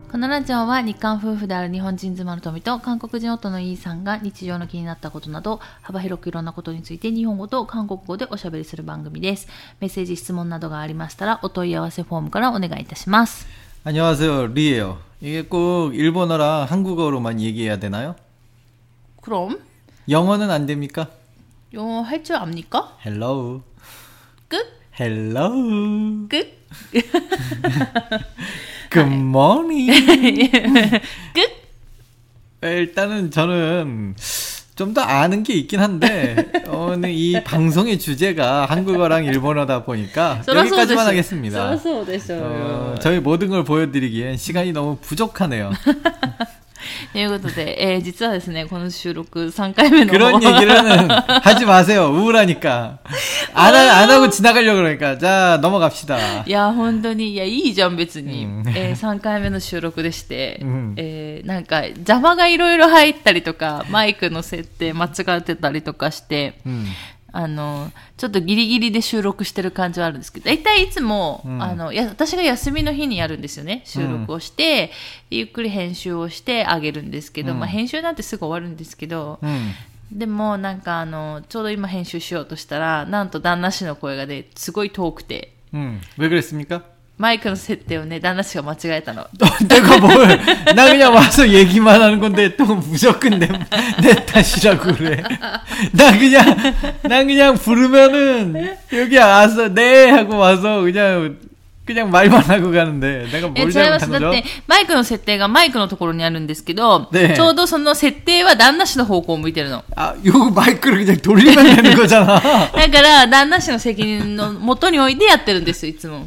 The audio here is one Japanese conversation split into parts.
このラジオは日韓夫婦である日本人妻の富と韓国人夫のイーさんが日常の気になったことなど幅広くいろんなことについて日本語と韓国語でおしゃべりする番組です。メッセージ質問などがありましたらお問い合わせフォームからお願いいたします。 안녕하세요, 리예요. 이게 꼭 일본어랑 한국어로만 얘기해야 되나요? 그럼 영어는 안 됩니까? 영어 할 줄 압니까? Hello. 끝? Hello. 끝? Good morning. 끝? 일단은 저는 좀 더 아는 게 있긴 한데 오늘 이 방송의 주제가 한국어랑 일본어다 보니까 여기까지만 하겠습니다. 저희 모든 걸 보여드리기엔 시간이 너무 부족하네요. ということで、実はですね、この収録3回目の 그런 얘기는 하지 마세요. 우울하니까. 안 하고 지나가려고 그러니까. 자, 넘어갑시다. いや、本当に、いや、いいじゃん、別に。3回目の収録でして、なんか、邪魔がいろいろ入ったりとか、マイクの設定間違ってたりとかして、ちょっとギリギリで収録してる感じはあるんですけど、だいたいいつも、私が休みの日にやるんですよね。収録をして、ゆっくり編集をしてあげるんですけど、まあ編集なんてすぐ終わるんですけど、でもなんかちょうど今編集しようとしたら、なんと旦那氏の声がね、すごい遠くて。 왜 그랬습니까? マイクの設定をね、旦那氏が間違えたの。 내가 뭘, 나 그냥 와서 얘기만 하는 건데 또 무조건 내 탓이라고 그래. 나 그냥 부르면은 여기 와서 네 하고 와서 그냥 말만 하고 가는데 내가 뭘 잘못한 거죠? だってマイクの設定がマイクのところにあるんですけど、 네. ちょうどその設定は旦那氏の方向を向いてるの。 아, 요 마이크를 그냥 돌리면 되는 거잖아. だから旦那氏の責任の元においてやってるんですよ、いつも。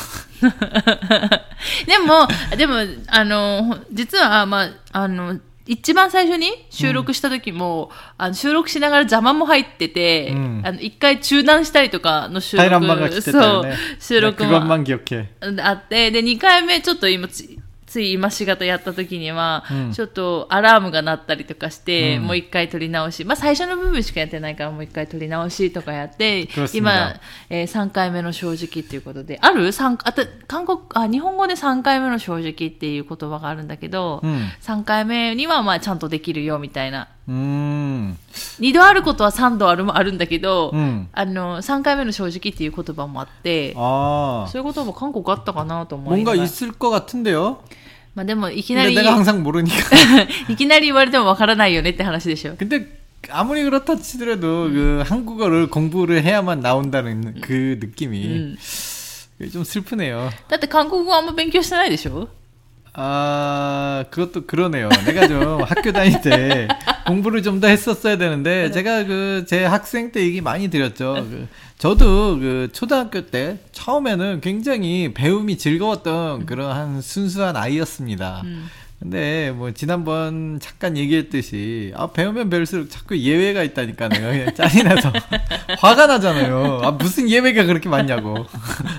でも、実は、まあ、一番最初に収録した時も、収録しながら邪魔も入ってて、一回中断したりとかの収録、そう、収録もあって、で、二回目ちょっとつい今しがたやった時には、ちょっとアラームが鳴ったりとかして、もう一回撮り直し、まあ最初の部分しかやってないからもう一回撮り直しとかやって、今、3回目の正直っていうことで、ある日本語で3回目の正直っていう言葉があるんだけど、3回目にはまあちゃんとできるよみたいな。2度あることは3度あるんだけど、3回目の正直っていう言葉もあって、そういうことも韓国あったかなと思いながら。 뭔가 있을 것 같은데요? まあでもいきなり 내가 항상 모르니까 いきなり言われてもわからないよねって話でしょ。 근데 아무리 그렇다 치더라도 그 한국어를 공부를 해야만 나온다는 그 느낌이 좀 슬프네요. だって韓国語あんま勉強してないでしょ? 아, 그것도 그러네요. 내가 좀 학교 다닐 때 공부를 좀 더 했었어야 되는데, 제가 제 학생 때 얘기 많이 드렸죠. 저도 초등학교 때 처음에는 굉장히 배움이 즐거웠던 그런 순수한 아이였습니다. 근데 뭐 지난번 잠깐 얘기했듯이 배우면 배울수록 자꾸 예외가 있다니까 내가 그냥 짜증 나서 화가 나잖아요. 무슨 예외가 그렇게 많냐고.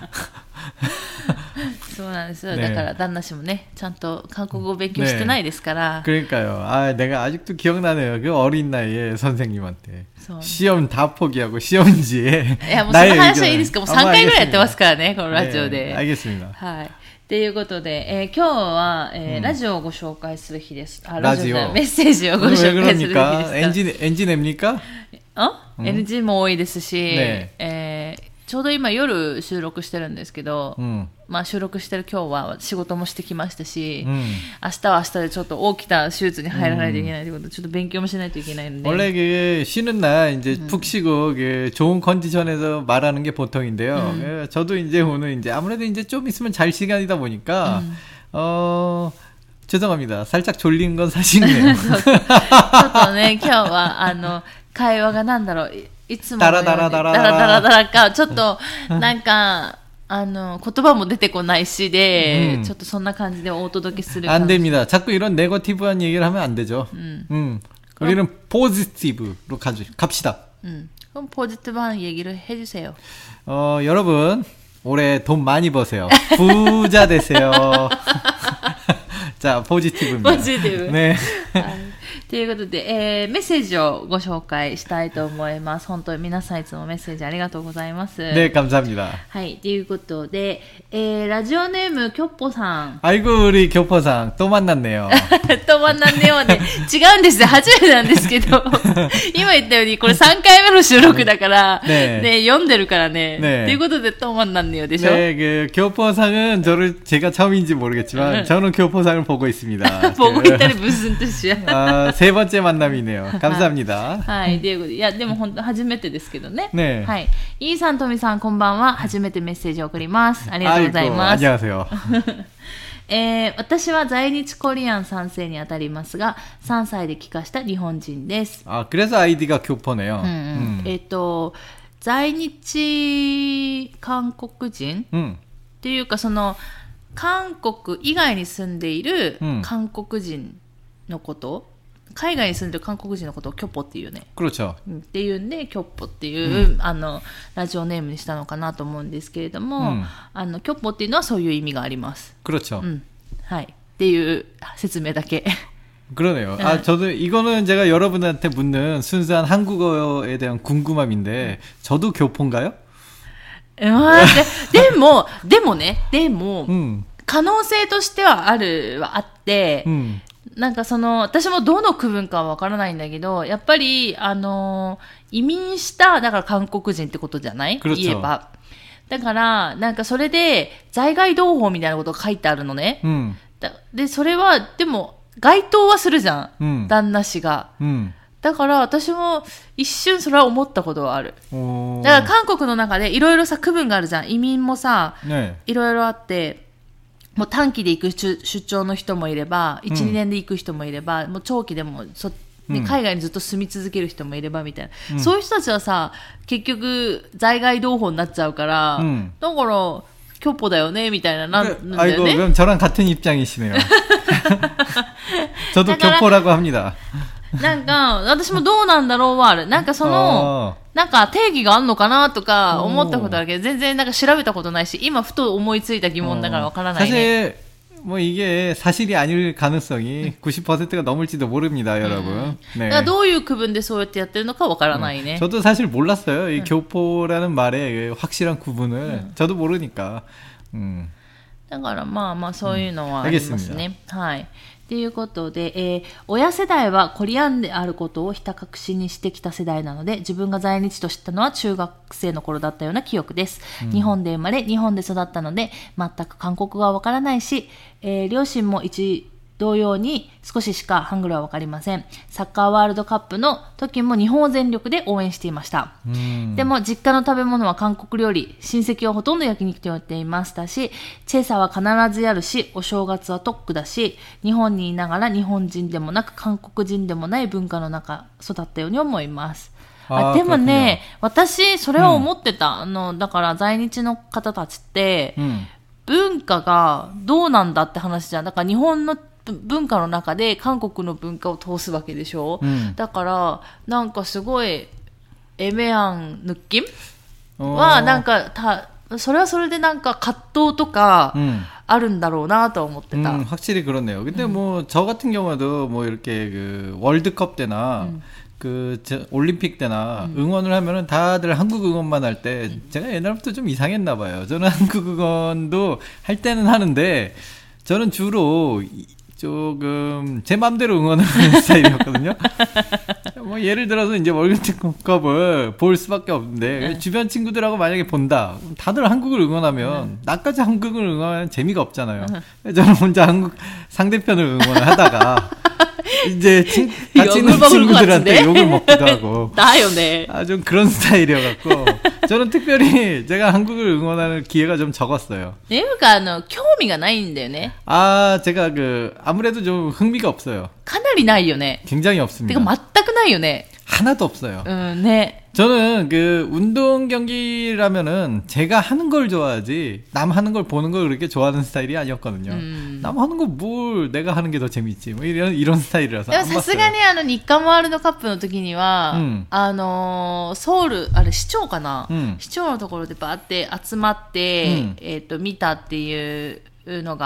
そうなんですよ。だから旦那氏もね、ちゃんと韓国語を勉強してないですから。 그러니까요. 아, 내가 아직도 기억나네요. 그 어린 나이에 선생님한테 시험 다 포기하고 시험지에 いやもうその話はいいですか。もう3回ぐらいやってますからね、このラジオで。 알겠습니다. はい。ということで、今日は、ラジオをご紹介する日です。 ラジオメッセージをご紹介する日です。 NG 냅니까? NG も多いですし、ちょうど今夜収録してるんですけど、まあ収録してる今日は仕事もしてきましたし、明日は明日でちょっと大きな手術に入らないといけないということで、ちょっと勉強もしないといけないので。 원래 쉬는 날 이제 푹 쉬고 좋은 컨디션에서 말하는 게 보통인데요. 저도 이제 오늘 이제 아무래도 이제 좀 있으면 잘 시간이다 보니까 죄송합니다. 살짝 졸린 건 사실이네요. ちょっとね、今日は会話がなんだろう。いつものようにダラダラか、ちょっとなんか言葉も出てこないしで、ちょっとそんな感じでお届けする。 안 됩니다. 자꾸 이런 네거티브한 얘기를 하면 안 되죠. 우리는 포지티브로 갑시다. 그럼 포지티브한 얘기를 해주세요. 여러분 올해 돈 많이 버세요. 부자 되세요. 자, 포지티브입니다. 포지티브. 네. ということで、メッセージをご紹介したいと思います。本当に皆さんいつもメッセージありがとうございます。 네、감사합니다。 はい、ということで、ラジオネームきょっぽさん。 아이고、우리 교포さん、또 만났네요。 と만났네요ね。違うんですよ。初めてなんですけど、今言ったように、これ3回目の収録だから、ね、読んでるからね。ね、ということで、と만났네요でしょ。 네、교포상은 제가 처음인지 모르겠지만, 저는 교포상을 보고 있습니다. 보고 있다니 무슨 뜻이야? 세 번째 만남이네요. 감사합니다. はい、ということで、いや、でも本当初めてですけどね。 ね、 はい。イーさん、トミさん、こんばんは。初めてメッセージを送ります。ありがとうございます。 안녕하세요。 私は在日コリアン3世にあたりますが、3歳で帰化した日本人です。 그래서 아이디가 교포네요. 在日韓国人、っていうか、その、韓国以外に住んでいる韓国人のこと、海外に住んでる韓国人のことをキョポっていうね。 그렇죠。 っていうんで、キョポっていう、ラジオネームにしたのかなと思うんですけれども、キョポっていうのはそういう意味があります。 그렇죠。 はい。っていう説明だけ。 그러네요. 저도 이거는 제가 여러분한테 묻는 순수한 한국어에 대한 궁금함인데, 저도 교포인가요? でもね、可能性としてはあって、なんか私もどの区分かはわからないんだけど、やっぱり、移民した、だから韓国人ってことじゃない?言えば。だから、なんかそれで、在外同胞みたいなことが書いてあるのね。で、それは、でも、該当はするじゃん。旦那氏が。だから私も一瞬それは思ったことはある。だから韓国の中でいろいろさ区分があるじゃん。移民もさ、いろいろあって、もう短期で行く出張の人もいれば、1、2年で行く人もいれば、もう長期でも海外にずっと住み続ける人もいればみたいな。そういう人たちはさ、結局在外同胞になっちゃうから、だから、교포だよねみたいななんだよね。 아이고 그럼 저랑 같은 입장이시네요. 저도 교포라고 합니다. なんか私もどうなんだろうはある。なんかなんか定義があるのかなとか思ったことあるけど、全然なんか調べたことないし、今ふと思いついた疑問だからわからないね。 뭐 이게 사실이 아닐 가능성이 90%가 넘을지도 모릅니다, 여러분. 네. 그러니까 どういう区分でそうやってやってるのかわからないね. 저도 사실 몰랐어요. 이 교포라는 말의 확실한 구분을 저도 모르니까. だからまあまあそういうのはありますね。はい。ということで、親世代はコリアンであることをひた隠しにしてきた世代なので、自分が在日と知ったのは中学生の頃だったような記憶です。日本で生まれ、日本で育ったので、全く韓国語はわからないし、両親も同様に少ししかハングルはわかりません。サッカーワールドカップの時も日本を全力で応援していました。でも実家の食べ物は韓国料理、親戚はほとんど焼肉と言っていましたし、チェサは必ずやるし、お正月は特区だし、日本にいながら日本人でもなく韓国人でもない文化の中育ったように思います。でもね、私それは思ってた。だから在日の方たちって、文化がどうなんだって話じゃん。だから日本の文化の中で韓国の文化を通すわけでしょ、だからなんかすごい애매한 느낌はなんかそれはそれでなんか葛藤とかあるんだろうなと思ってた. 확실히 그렇네요. 근데 뭐 저 같은 경우도 뭐 이렇게 그 월드컵 때나 그 올림픽 때나 응원을 하면은 다들 한국 응원만 할 때 제가 옛날부터 좀 이상했나 봐요. 저는 한국 응원도 할 때는 하는데 저는 주로 조금 제 맘대로 응원을 하는 스타일이었거든요. 뭐 예를 들어서 이제 월드컵을 볼 수밖에 없는데 주변 친구들하고 만약에 본다. 다들 한국을 응원하면 나까지 한국을 응원하는 재미가 없잖아요. 저는 혼자 한국 상대편을 응원을 하다가 이제 같이 있는 친구들한테 욕을 먹기도 하고. 나요네. 좀 그런 스타일이어갖고 저는 특별히 제가 한국을 응원하는 기회가 좀 적었어요. 내가興味がないんだよね. 제가 아무래도 좀 흥미가 없어요. かなりないよね. 굉장히 없습니다. てか全くないよね. 하나도 없어요. 네. 저는 운동 경기라면은 제가 하는 걸 좋아하지 남 하는 걸 보는 걸 그렇게 좋아하는 스타일이 아니었거든요. 남 하는 거 뭘 내가 하는 게 더 재밌지. 뭐 이런 스타일이라서. でもさすがに日韓ワールドカップの時には、ソウル市長かな、市長のところでバーって集まって、見たっていうのが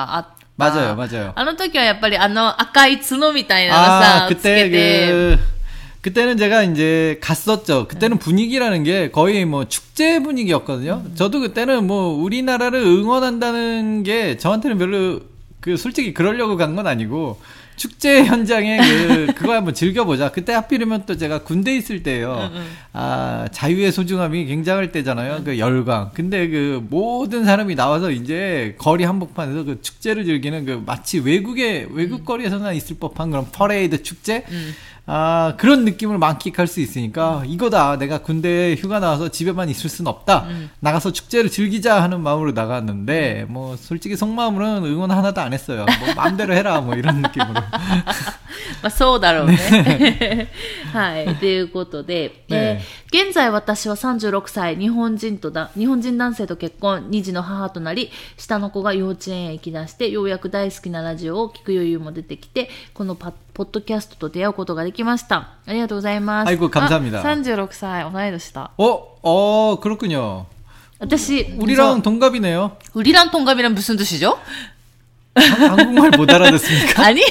맞아요, 맞아요. あの時はやっぱり赤い角みたいなのさ、つけて。 그때는 제가 이제 갔었죠. 그때는 분위기라는 게 거의 뭐 축제 분위기였거든요. 저도 그때는 뭐 우리나라를 응원한다는 게 저한테는 별로 솔직히 그러려고 간 건 아니고 축제 현장에 그거 한번 즐겨보자. 그때 하필이면 또 제가 군대에 있을 때예요. 자유의 소중함이 굉장할 때잖아요. 그 열광. 근데 그 모든 사람이 나와서 이제 거리 한복판에서 그 축제를 즐기는 그 마치 외국 거리에서나 있을 법한 그런 퍼레이드 축제? 그런 느낌을 만끽할 수 있으니까 이거다. 내가 군대에 휴가 나와서 집에만 있을 순 없다. 나가서 축제를 즐기자 하는 마음으로 나갔는데 뭐 솔직히 속마음으로는 응원 하나도 안 했어요. 뭐 마음대로 해라 뭐 이런 느낌으로. まあそうだろうね。はい。ということで、現在私は36歳、日本人男性と結婚、2児の母となり、下の子が幼稚園へ行き出して、ようやく大好きなラジオを聞く余裕も出てきて、このポッドキャストと出会うことができました。ありがとうございます。 아이고 감사합니다. 36歳、同い年だ。 그렇군요. 私、 우리랑 동갑이네요. 우리랑 동갑이란 무슨 뜻이죠? 한국말 못 알아듣습니까? 아니? い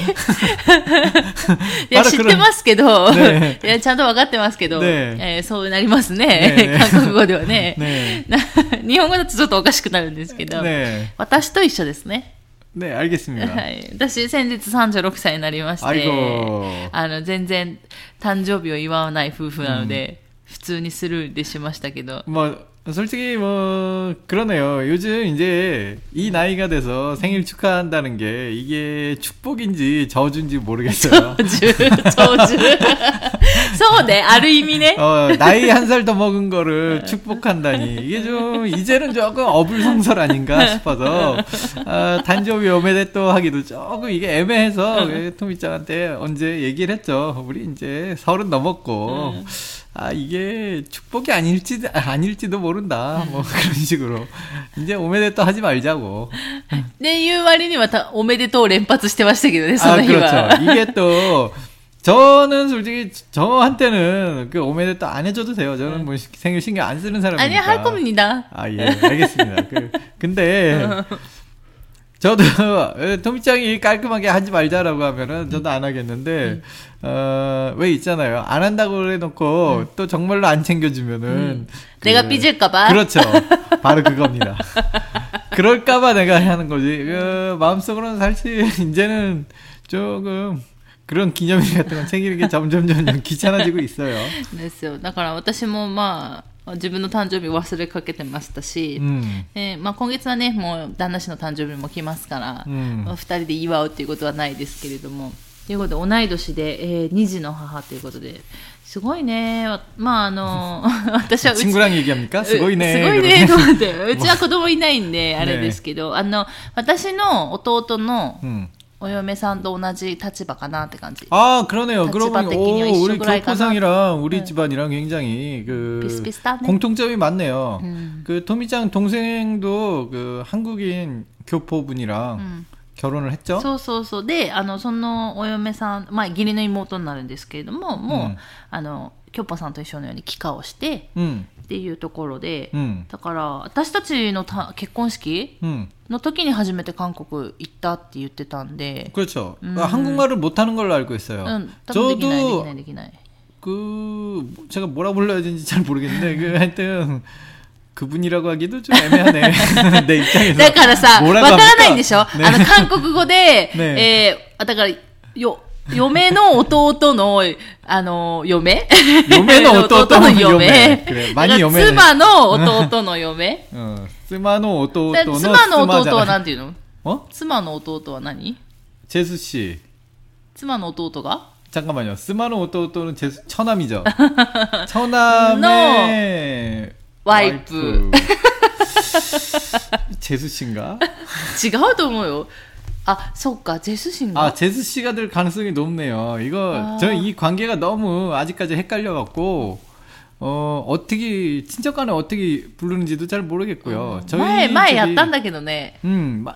や、知ってますけど、ね、いや、ちゃんと分かってますけど、ねそうなりますね。ね韓国語ではね。ね日本語だとちょっとおかしくなるんですけど、ね、私と一緒ですね。 ね、알겠습니다. はい。私、先日36歳になりまして、全然誕生日を祝わない夫婦なので、普通にスルーでしましたけど。 솔직히 뭐 그러네요. 요즘 이제 이 나이가 돼서 생일 축하한다는 게 이게 축복인지 저주인지 모르겠어요. 저주. そうね, ある意味ね. 나이 한 살 더 먹은 거를 축복한다니 이게 좀 이제는 조금 어불성설 아닌가 싶어서 단조비 오메데또 하기도 조금 이게 애매해서 토미짱한테 언제 얘기를 했죠. 우리 이제 30 넘었고. 이게 축복이 아닐지도 모른다. 뭐 그런 식으로. 이제 오메데또 하지 말자고. 네, 言う割にはおめでとう連発してましたけどね, その日は. 그렇죠. 이게 또, 저는 솔직히, 저한테는 그 오메데또 안 해줘도 돼요. 저는 뭐 생일 신경 안 쓰는 사람이니까. 아니, 할 겁니다. 예, 알겠습니다. 근데, 저도 토미짱이 깔끔하게 하지 말자라고 하면은 저도 안 하겠는데 왜 있잖아요. 안 한다고 그래놓고 또 정말로 안 챙겨주면은 내가 삐질까봐. 그렇죠. 바로 그겁니다. 그럴까봐 내가 하는 거지. 마음속으로는 사실 이제는 조금 그런 기념일 같은 건 챙기는 게 점점 귀찮아지고 있어요. ですよ。だから私も自分の誕生日忘れかけてましたし、今月はね、もう旦那氏の誕生日も来ますから、2人で祝うっていうことはないですけれども、ということで同い年で、2児の母ということで、すごいね。私は 친구랑 얘기합니까? すごいねと思って、うちは子供いないんであれですけど、私の弟のお嫁さんと同じ立場かなって感じ. 그러네요. 그러고 보니 우리 교포상이랑 우리 집안이랑 굉장히 비슷비슷하네. 공통점이 많네요. 그 토미짱 동생도 그 한국인 교포분이랑 결혼을 했죠? そうそうそう。で、そのお嫁さん、義理の妹になるんですけれども、もう、キョッパさんと一緒のように帰化をして、っていうところで、だから私たちの結婚式の時に初めて韓国行ったって言ってたんで. 그렇죠. 한국말을 못하는 걸로 알고 있어요. 저도 제가 뭐라 불러야 되는지 잘 모르겠는데 하여튼 그분이라고 하기도 좀 애매하네. 내 입장에서. だからさ、わからないんでしょ? 韓国語で、だから嫁の弟の嫁の弟の嫁 그래, 많이嫁妻の弟の嫁妻の弟の妻の弟はなんていうの? 妻の弟は何? 재수 씨. 妻の弟が? 잠깐만요. 스마노 오토오토는 처남이죠. 처남의 와이프. 재수 씨인가? 違うと思うよ.そうか, 재수 씨인가? 재수 씨가 될 가능성이 높네요. 저는 이 관계가 너무 아직까지 헷갈려갖고, 어떻게, 친척간에 어떻게 부르는지도 잘 모르겠고요. 前やったんだけどね.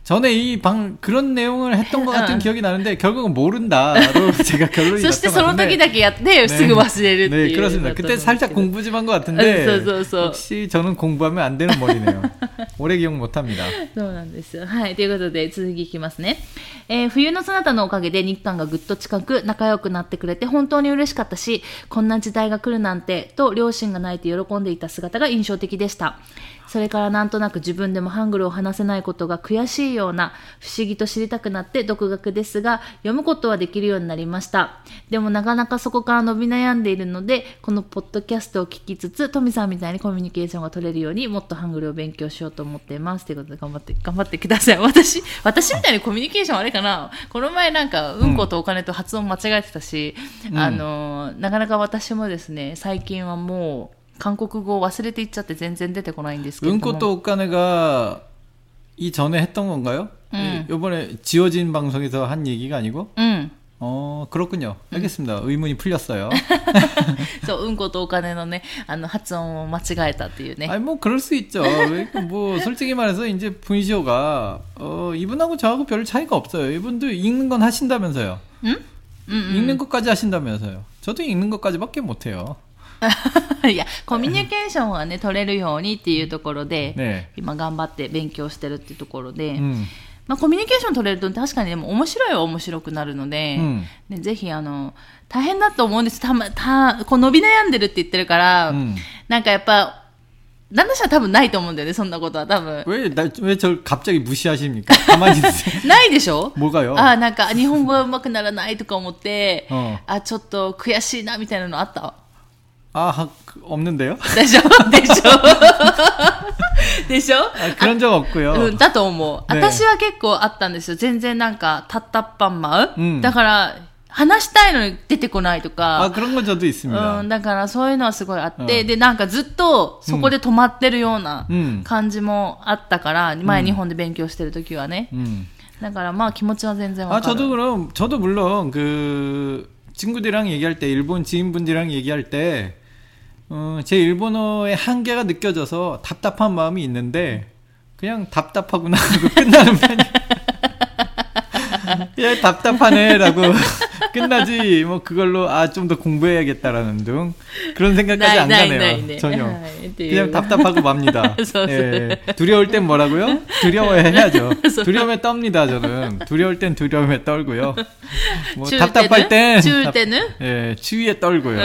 전에 그런 내용을 했던 것 같은 기억이 나는데 결국은 모른다로 제가 결론이 났던 것 같은데. そしてその時だけやってすぐ忘れるっていう。 네, 그렇습니다. 그때 살짝 공부 좀 한 것 같은데 역시 저는 공부하면 안 되는 머리네요. 오래 기억 못합니다. そうなんです。はい。ということで続きいきますね。冬のそなたのおかげで日韓がぐっと近く仲良くなってくれて本当に嬉しかったし、こんな時代が来るなんてと両親が泣いて喜んでいた姿が印象的でした。それからなんとなく自分でもハングルを話せないことが悔しいような不思議と知りたくなって独学ですが読むことはできるようになりました。でもなかなかそこから伸び悩んでいるのでこのポッドキャストを聞きつつトミさんみたいにコミュニケーションが取れるようにもっとハングルを勉強しようと思っていますということで頑張ってください。私みたいにコミュニケーションあれかな、この前なんかうんことお金と発音間違えてたし、なかなか私もですね最近はもう韓国語を忘れていっちゃって全然出てこないんですけれども。 은꽃도 옷가네가 이전에 했던 건가요? 이번에 지워진 방송에서 한 얘기가 아니고? 그렇군요. 알겠습니다. 의문이 풀렸어요. そう、うんことお金のね、発音を間違えたっていうね。 아니 뭐 그럴 수 있죠. 뭐 솔직히 말해서 이제 분시오가 이분하고 저하고 별 차이가 없어요. 이분도 읽는 건 하신다면서요. 읽는 것까지 하신다면서요. 저도 읽는 것까지밖에 못해요. いやコミュニケーションはね取れるようにっていうところで、ね、今頑張って勉強してるっていうところで、まあ、コミュニケーション取れると確かにでも面白いは面白くなるので、ね、ぜひ大変だと思うんです。こう伸び悩んでるって言ってるから、なんかやっぱ旦那氏は多分ないと思うんだよね。そんなことは多分。 왜 저 갑자기 무시하십니까? 가만히 있으세요. ないでしょ? 뭐가요? なんか日本語が上手くならないとか思って、ちょっと悔しいなみたいなのあった。 없는데요? でしょ 그런 적 없고요. だと思う。私は結構あったんですよ。全然なんかタッタッパンマウ、だから話したいのに出てこないとか。 그런 건 저도 있습니다. だからそういうのはすごいあって、でなんかずっとそこで止まってるような感じもあったから、前日本で勉強してる時はね。だからまあ気持ちは全然わかる。 저도 물론 그 친구들이랑 얘기할 때 일본 지인분들이랑 얘기할 때 제 일본어의 한계가 느껴져서 답답한 마음이 있는데 그냥 답답하구나 하고 끝나는 편이에요. 야 답답하네라고 끝나지 뭐 그걸로 좀 더 공부해야겠다라는 등 그런 생각까지 안 가네요. 전혀 그냥 답답하고 맙니다. 예, 두려울 땐 뭐라고요? 두려워해야죠. 두려움에 떱니다. 저는 두려울 땐 두려움에 떨고요. 뭐 답답할 땐 예, 추위에 떨고요.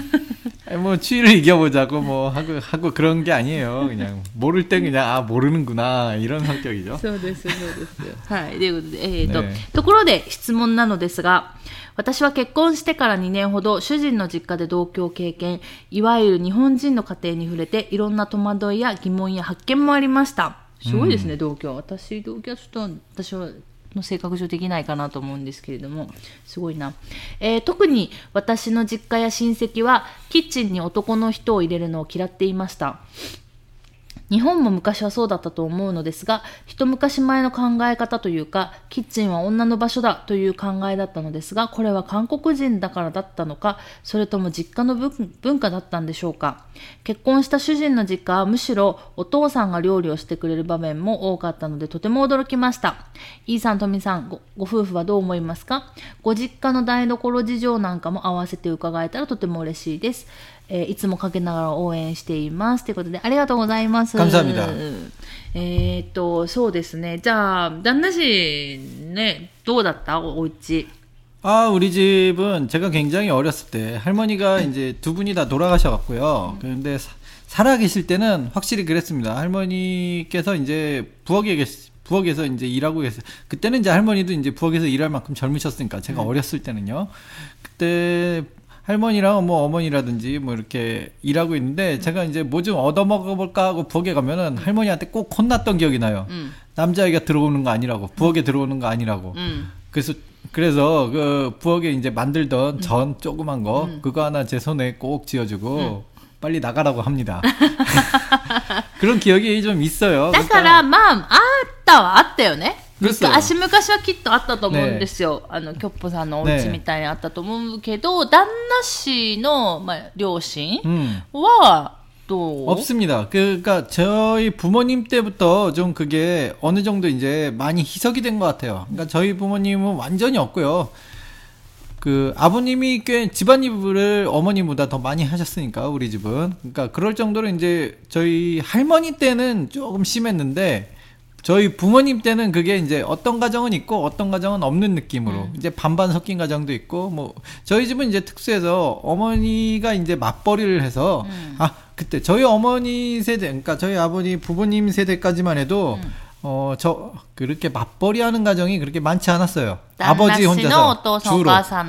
뭐 추위를 이겨보자고 뭐 하고 그런 게 아니에요. 그냥 모를 땐 그냥 모르는구나 이런 성격이죠. そうです。はい。ということで、ところで質問なのですが、私は結婚してから2年ほど主人の実家で同居を経験、いわゆる日本人の家庭に触れていろんな戸惑いや疑問や発見もありました。すごいですね、同居。同居はちょっと私の性格上できないかなと思うんですけれども、すごいな。特に私の実家や親戚はキッチンに男の人を入れるのを嫌っていました。日本も昔はそうだったと思うのですが、一昔前の考え方というか、キッチンは女の場所だという考えだったのですが、これは韓国人だからだったのか、それとも実家の文化だったんでしょうか。結婚した主人の実家はむしろお父さんが料理をしてくれる場面も多かったので、とても驚きました。イーさん、トミさん、ご夫婦はどう思いますか？ご実家の台所事情なんかも合わせて伺えたらとても嬉しいです。いつもかけながら応援していますということでありがとうございます。 감사합니다。 そうですね。じゃあ旦那氏ねどうだったお家？ 우리 집은 제가 굉장히 어렸을 때 할머니가 이제 두 분이 다 돌아가셔갖고요. 그런데 살아계실 때는 확실히 그랬습니다. 할머니께서 이제 부엌에서 이제 일하고 계세요. 그때는 이제 할머니도 이제 부엌에서 일할 만큼 젊으셨으니까 제가 어렸을 때는요. 그때 할머니랑 뭐 어머니라든지 뭐 이렇게 일하고 있는데 제가 이제 뭐 좀 얻어먹어볼까 하고 부엌에 가면은 할머니한테 꼭 혼났던 기억이 나요. 남자애가 들어오는 거 아니라고, 부엌에 들어오는 거 아니라고. 그래서 그 부엌에 이제 만들던 전 조그만 거 그거 하나 제 손에 꼭 쥐어주고 빨리 나가라고 합니다. 그런 기억이 좀 있어요. だからまああったよね。昔はきっとあったと思うんですよ。キョッポさんのお家みたいにあったと思うけど、旦那氏の、両親は、 또 없습니다. 그러니까 저희 부모님 때부터 좀 그게 어느 정도 이제 많이 희석이 된 것 같아요. 그러니까 저희 부모님은 완전히 없고요. 그 아버님이 꽤 집안일을 어머니보다 더 많이 하셨으니까 우리 집은. 그러니까 그럴 정도로 이제 저희 할머니 때는 조금 심했는데 저희 부모님 때는 그게 이제 어떤 가정은 있고 어떤 가정은 없는 느낌으로 이제 반반 섞인 가정도 있고 뭐 저희 집은 이제 특수해서 어머니가 이제 맞벌이를 해서 그때 저희 어머니 세대 그러니까 저희 아버지 부모님 세대까지만 해도 그렇게 맞벌이 하는 가정이 그렇게 많지 않았어요. 아버지 혼자서 주로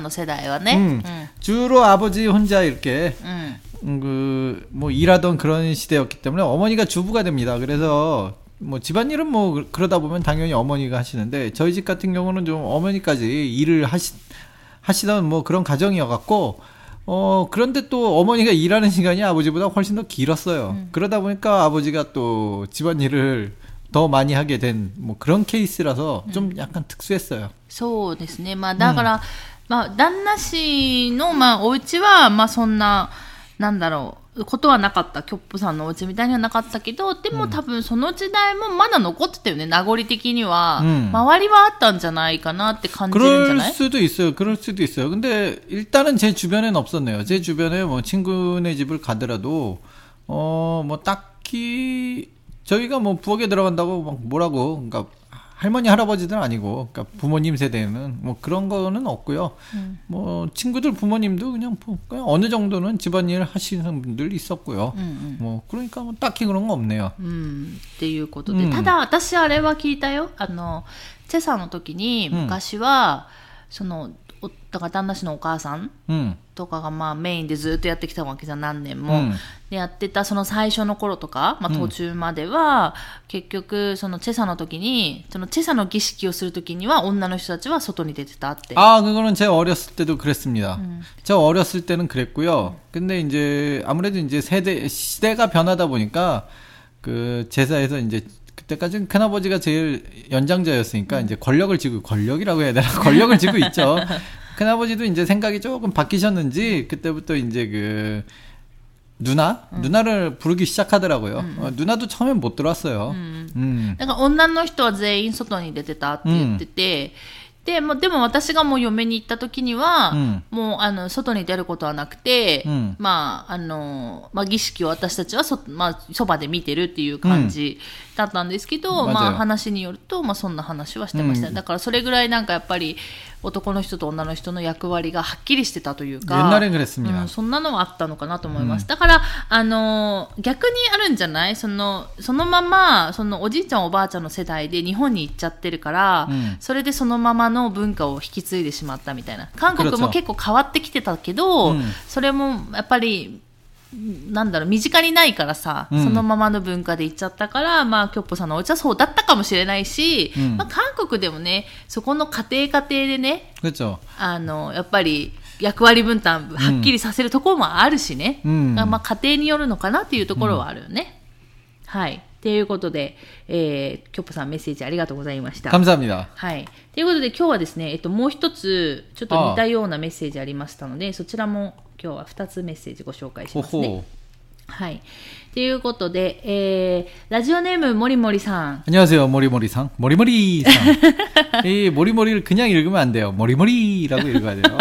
주로 아버지 혼자 이렇게 뭐 일하던 그런 시대였기 때문에 어머니가 주부가 됩니다. 그래서 뭐 집안일은 뭐 그러다 보면 당연히 어머니가 하시는데 저희 집 같은 경우는 좀 어머니까지 일을 하시던 뭐 그런 가정이어갖고 그런데 또 어머니가 일하는 시간이 아버지보다 훨씬 더 길었어요. 그러다 보니까 아버지가 또 집안일을 더 많이 하게 된 뭐 그런 케이스라서 좀 약간 특수했어요. そうですね。まあだから、まあ旦那氏のまあお家はまあそんななんだろう。ことはなかった。キョップさんのお家みたいにはなかったけど、でも多分その時代もまだ残ってたよね。名残的には。周りはあったんじゃないかなって感じるんじゃない? 그럴 수도 있어요. 그럴 수도 있어요. 근데 일단은 제 주변에는 없었네요. 제 주변에 뭐 친구네 집을 가더라도 뭐 딱히 저희가 뭐 부엌에 들어간다고 막 뭐라고 그러니까 할머니 할아버지들은 아니고 그러니까 부모님 세대는 뭐 그런 거는 없고요. 뭐 친구들 부모님도 그냥 어느 정도는 집안일 하시는 분들 있었고요. 뭐 그러니까 뭐 딱히 그런 거 없네요. っていうことで、ただ私あれは聞いたよ。チェサの時に昔はそのだから旦那氏のお母さんとかがまあメインでずっとやってきたわけじゃ何年も、でやってたその最初の頃とか、まあ、途中までは、結局そのチェサの時にそのチェサの儀式をする時には女の人たちは外に出てたって。 그거는 제가 어렸을 때도 그랬습니다. 제가 어렸을 때는 그랬고요. 근데 이제 아무래도 이제 시대가 변하다 보니까 그 제사에서 이제 그때까지는 큰아버지가 제일 연장자였으니까 이제 권력이라고 해야 되나? 권력을 쥐고 있죠. 큰아버지도 이제 생각이 조금 바뀌셨는지 그때부터 이제 그 누나를 부르기 시작하더라고요. 누나도 처음엔 못 들어왔어요. 그러니까 女の人は全員外に出てたって言ってて、でも私がもう嫁に行った時には、もう外に出ることはなくて、まあ儀式を私たちはそばで見てるっていう感じだったんですけど、まあ話によると、まあそんな話はしてました。だからそれぐらいなんかやっぱり男の人と女の人の役割がはっきりしてたというか、そんなのはあったのかなと思います。だから逆にあるんじゃない？そのままそのおじいちゃんおばあちゃんの世代で日本に行っちゃってるから、それでそのままの文化を引き継いでしまったみたいな。韓国も結構変わってきてたけど、それもやっぱりなんだろう、身近にないからさ、そのままの文化で行っちゃったから、まあキョッポさんのお家はそうだったかもしれないし、まあ韓国でもね、そこの家庭でね、やっぱり役割分担はっきりさせるところもあるしね、まあ家庭によるのかなっていうところはあるよね。はい。ということで、キョッポさんメッセージありがとうございました。 감사합니다。 はい。ということで今日はですね、もう一つちょっと似たようなメッセージありましたので、そちらも今日は2つメッセージご紹介しますね。はい。ということで、ラジオネームモリモリさん。 안녕하세요 모리모리상. 모리모리상. 이 모리모리를 그냥 읽으면 안 돼요. 모리모리라고 읽어야 돼요.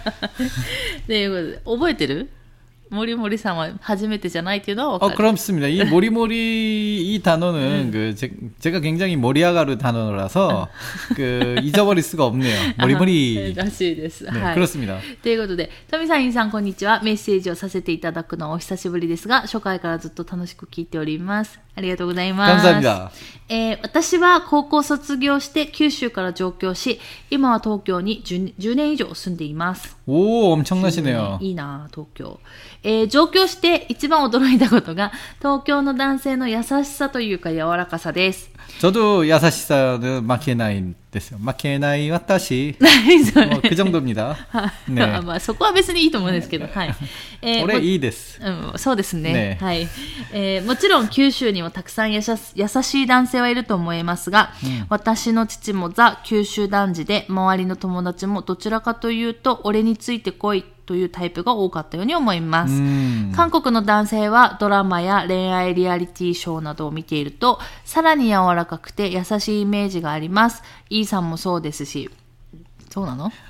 네,覚えてる? 모리모리さんは初めてじゃないっていうのは分かる? 그렇습니다. 이 모리모리 이 단어는 제가 굉장히 모리아가루 단어라서 잊어버릴 수가 없네요. 모리모리. らしいです。 네, はい。 그렇습니다. ということで、トミさん、インさん、こんにちは。メッセージをさせていただくのはお久しぶりですが、初回からずっと楽しく聞いております。ありがとうございます。 감사합니다. 私は高校卒業して九州から上京し、今は東京に 10年以上住んでいます。 오, 엄청나시네요. いいな、東京。上京して一番驚いたことが東京の男性の優しさというか柔らかさです。 저도 야사시사는 마케나이 됐어요. 마케나이 와타시. 그 정도입니다. 네. まあそこは別にいいと思うんですけど、はい。 俺いいです。 そうですね。 ね、 はい。もちろん九州にもたくさん優しい男性はいると思いますが、私の父もザ九州男児で、周りの友達もどちらかというと俺についてこいというタイプが多かったように思います。韓国の男性はドラマや恋愛リアリティショーなどを見ているとさらに柔らかくて優しいイメージがあります。イーさんもそうですし。そうなの?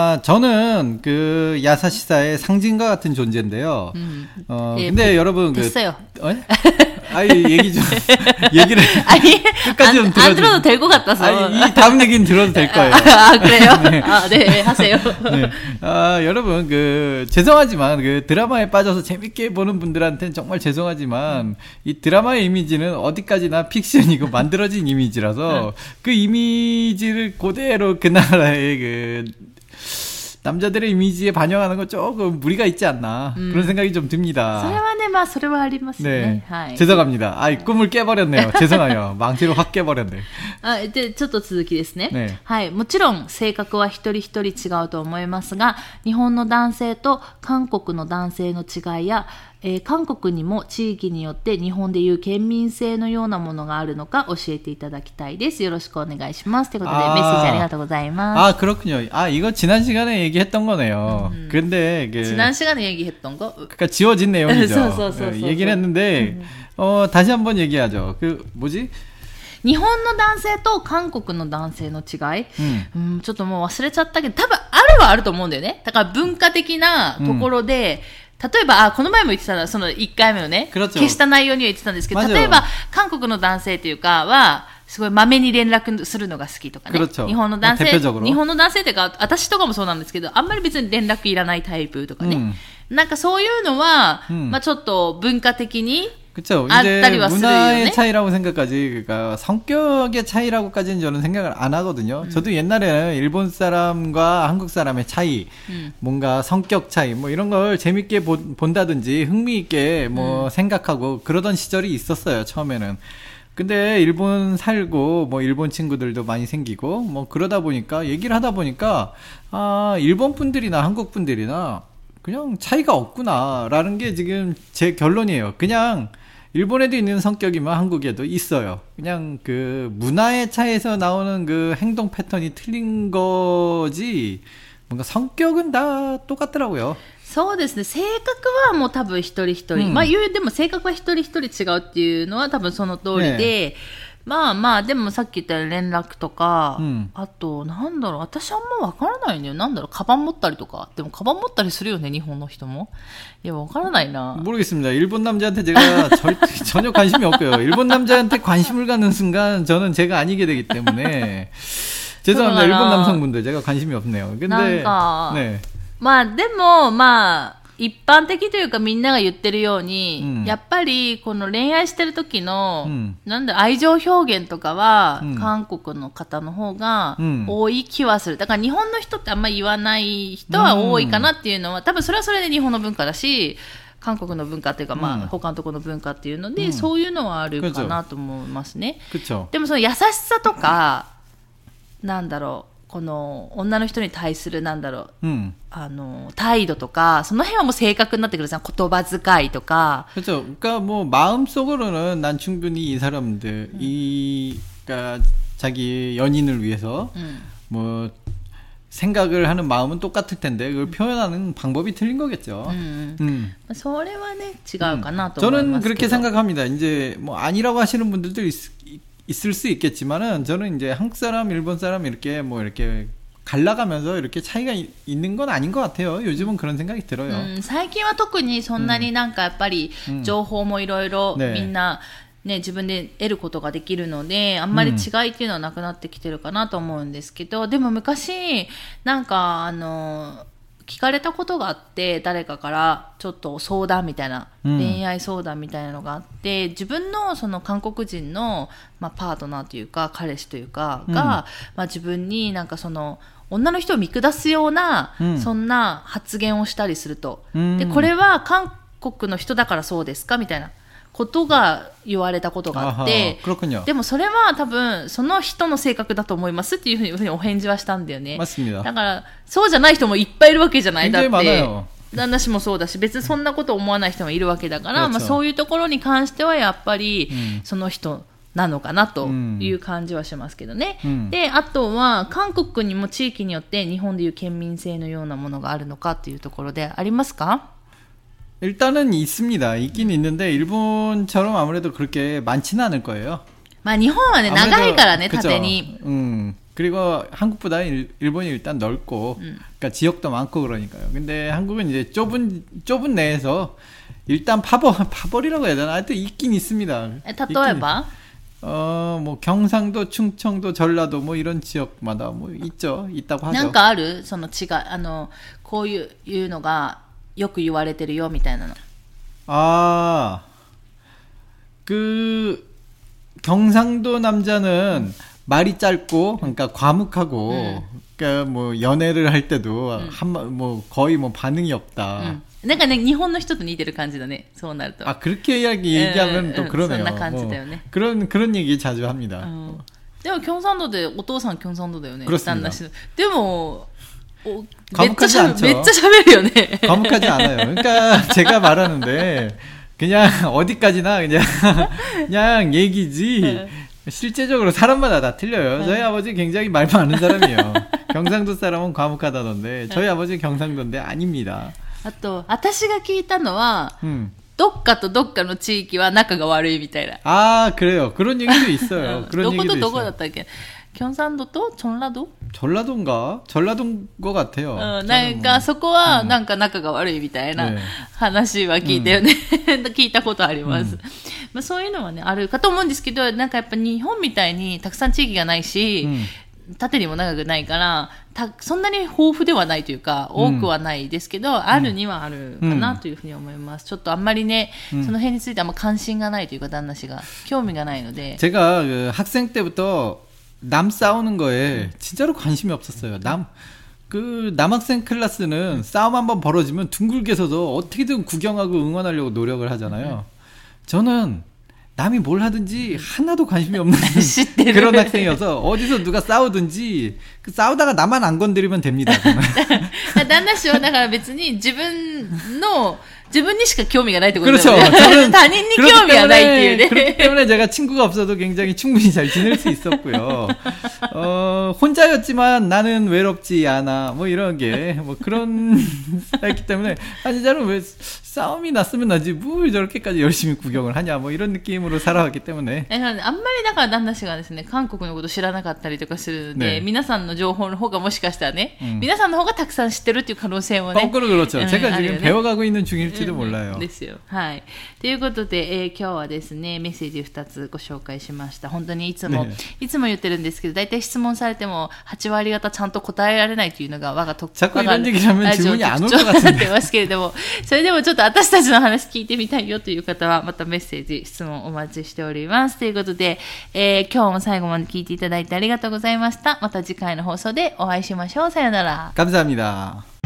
저는 그 야사시사의 상징과 같은 존재인데요. 근데 여러분 됐어요. 얘기 좀 얘기를 끝까지 좀 들어주세요. 안 들어도 될 것 같아서. 이 다음 얘기는 들어도 될 거예요. 그래요? 네. 네, 하세요. 네. 여러분 죄송하지만 그 드라마에 빠져서 재밌게 보는 분들한테는 정말 죄송하지만 이 드라마의 이미지는 어디까지나 픽션이고 만들어진 이미지라서 그 이미지를 그대로 그 나라의 그 남자들의 이미지에 반영하는 거 조금 무리가 있지 않나 그런 생각이 좀 듭니다. それはね、まあそれはありますね。 はい。죄송합니다. 꿈을 깨버렸네요. 죄송해요. 망치로 확 깨버렸네. で、ちょっと続きですね。 ね。 はい。もちろん性格は一人一人違うと思いますが、日本の男性と韓国の男性の違いや、韓国にも地域によって日本でいう県民性のようなものがあるのか教えていただきたいです。よろしくお願いします。ということで、メッセージありがとうございます。 그렇군요. 이거 지난 시간에 얘기했던 거네요. 근데 지난 시간에 얘기했던 거? 그러니까 지워진 내용이죠. そう 얘기를 했는데 다시 한번 얘기하죠. 뭐지? 日本の男性と韓国の男性の違い、ちょっともう忘れちゃったけど、多分あるはあると思うんだよね。だから文化的なところで、例えば、この前も言ってたのは、その1回目のね、消した内容には言ってたんですけど、例えば、韓国の男性というかは、すごいまめに連絡するのが好きとかね。日本の男性っていうか、私とかもそうなんですけど、あんまり別に連絡いらないタイプとかね。なんかそういうのは、まあちょっと文化的に、 그렇죠. 이제 문화의 차이라고 생각까지, 그러니까 성격의 차이라고까지는 저는 생각을 안 하거든요. 저도 옛날에는 일본 사람과 한국 사람의 차이, 뭔가 성격 차이, 뭐 이런 걸 재밌게 본다든지 흥미있게 뭐 생각하고 그러던 시절이 있었어요, 처음에는. 근데 일본 살고 뭐 일본 친구들도 많이 생기고 뭐 그러다 보니까 얘기를 하다 보니까 일본 분들이나 한국 분들이나 그냥 차이가 없구나라는 게 지금 제 결론이에요. 그냥 일본에도 있는 성격이면 한국에도 있어요. 그냥 그 문화의 차이에서 나오는 그 행동 패턴이 틀린 거지 뭔가 성격은 다 똑같더라고요. そうですね。性格はもう多分一人一人。まあでも性格は一人一人違うっていうのは多分その通りで、まあまあ、でもさっき言ったように連絡とか、あと、なんだろう、私あんまわからないんだよ。なんだろう、カバン持ったりとか。でもカバン持ったりするよね、日本の人も。いや、わからないな。 모르겠습니다. 일본 남자한테 제가 전혀 관심이 없고요. 일본 남자한테 관심을 갖는 순간 저는 제가 아니게 되기 때문에 죄송합니다. 일본 남성분들 제가 관심이 없네요. 근데 なんか、 네. まあでも、まあ、一般的というかみんなが言ってるように、やっぱりこの恋愛してる時の、なんだ愛情表現とかは、韓国の方の方が多い気はする。だから日本の人ってあんまり言わない人は多いかなっていうのは、多分それはそれで日本の文化だし、韓国の文化っていうか、まあ他のところの文化っていうので、そういうのはあるかなと思いますね。でもその優しさとか、なんだろう。この女の人に対するなんだろう、態度とかその辺はもう正確になってくるじゃん。言葉遣いとか。 그렇죠. 그러니까 뭐 마음속으로는 난 충분히 이 사람들 그러니까 자기 연인을 위해서 뭐 생각을 하는 마음은 똑같을 텐데 그걸 표현하는 방법이 틀린 거겠죠. それはね違うかなと思いますけど。 저는 그렇게 생각합니다. 이제 뭐 아니라고 하시는 분들도 있을 수 있겠지만은 저는 이제 한국 사람, 일본 사람 이렇게 뭐 이렇게 갈라가면서 이렇게 차이가 있는 건 아닌 것 같아요. 요즘은 그런 생각이 들어요. 最近は特にそんなになんかやっぱり情報もいろいろみんなね自分で得ることができるのであんまり違いっていうのはなくなってきてるかなと思うんですけど、でも昔なんか聞かれたことがあって誰かからちょっと相談みたいな、恋愛相談みたいなのがあって自分のその韓国人の、まあ、パートナーというか彼氏というかが、まあ、自分になんかその女の人を見下すような、そんな発言をしたりすると、でこれは韓国の人だからそうですかみたいなことが言われたことがあって、でもそれは多分その人の性格だと思いますっていうふうにお返事はしたんだよね。だからそうじゃない人もいっぱいいるわけじゃない。だって私もそうだし別にそんなこと思わない人もいるわけだから、まあ、そういうところに関してはやっぱり、その人なのかなという感じはしますけどね。で、あとは韓国にも地域によって日本でいう県民性のようなものがあるのかというところでありますか？ 일단은 있습니다. 있긴 있는데 일본처럼 아무래도 그렇게 많지는 않을 거예요. まあ日本はね、長いからね、縦に。 그리고 한국보다 일본이 일단 넓고, 그러니까 지역도 많고 그러니까요. 근데 한국은 이제 좁은 내에서 일단 파벌이라고 해야 되나? 하여튼 있긴 있습니다. 例えば? 뭐 경상도, 충청도, 전라도 뭐 이런 지역마다 뭐 있다고 하죠. なんかある？その違い、こういうのがよく言われてるよみたいなの。 경상도 남자는 말이 짧고, 그러니까 과묵하고, 그러니까 뭐 연애를 할 때도 뭐 거의 뭐 반응이 없다. なんかね、日本の人と似てる感じだね。そうなると。 그렇게 얘기하면 또 그러네요. そんな感じだよね。 그런 얘기 자주 합니다. でも경상도でお父さん경상도だよね。 그렇습니다. でも 과묵하지 않죠. めっちゃ喋るよね。 과묵하지 않아요. 그러니까 제가 말하는데 그냥 어디까지나 그냥 얘기지. 실제적으로 사람마다 다 틀려요. 저희 아버지 굉장히 말 많은 사람이에요. 경상도 사람은 과묵하다던데 저희 아버지 경상도인데 아닙니다. あと、私が聞いたのは、どっかとどっかの地域は仲が悪いみたいな。 그래요. 그런 얘기도 있어요. 그런 얘기도 있어요. どことどこだったっけ？경상도と전라도? 전라도인가? 전라도인 것 같아요. なんかそこはなんか仲が悪いみたいな話は聞いたよね。聞いたことあります。まあそういうのはね、あるかと思うんですけど、なんかやっぱ日本みたいにたくさん地域がないし、縦にも長くないから、そんなに豊富ではないというか、多くはないですけど、あるにはあるかなというふうに思います。ちょっとあんまりね、その辺についてあんま関心がないというか、旦那氏が興味がないので。 제가 그 학생 때부터 남 싸우는 거에 진짜로 관심이 없었어요. 남학생 클래스는 싸움 한번 벌어지면 둥글게 서서 어떻게든 구경하고 응원하려고 노력을 하잖아요. 저는 남이 뭘 하든지 하나도 관심이 없는 그런 학생이어서 어디서 누가 싸우든지 싸우다가 나만 안 건드리면 됩니다. 旦那氏はだから別に自分にしか興味がないってことだ 그렇죠. よね。 저는 他人に興味がないっていうね。 그렇기 때문에 제가 친구가 없어도 굉장히 충분히 잘 지낼 수 있었고요. 혼자였지만 나는 외롭지 않아. 뭐 이런 게 뭐 그런 했기 때문에 진짜로 왜 싸움이 났으면 나지 뭘 저렇게까지 열심히 구경을 하냐 뭐 이런 느낌으로 살아왔기 때문에. あんまりだから旦那氏がですね、韓国のこと知らなかったりとかするので、皆さんの情報の方がもしかしたらね、皆さんの方がたくさん知ってるっていう可能性もね。 거꾸로 그렇죠. 제가 지금 배워가고 있는 중일지도 몰라요. ですよ。はい。ということで、今日はですね、メッセージ2つご紹介しました。本当にいつも言ってるんですけど、大体質問されても8割方ちゃんと答えられないというのが我が特徴があるラジオの特徴になってますけれども、それでもちょっと私たちの話聞いてみたいよという方は、またメッセージ、質問お待ちしております。ということで、今日も最後まで聞いていただいてありがとうございました。また次回の放送でお会いしましょう。さよなら。 감사합니다.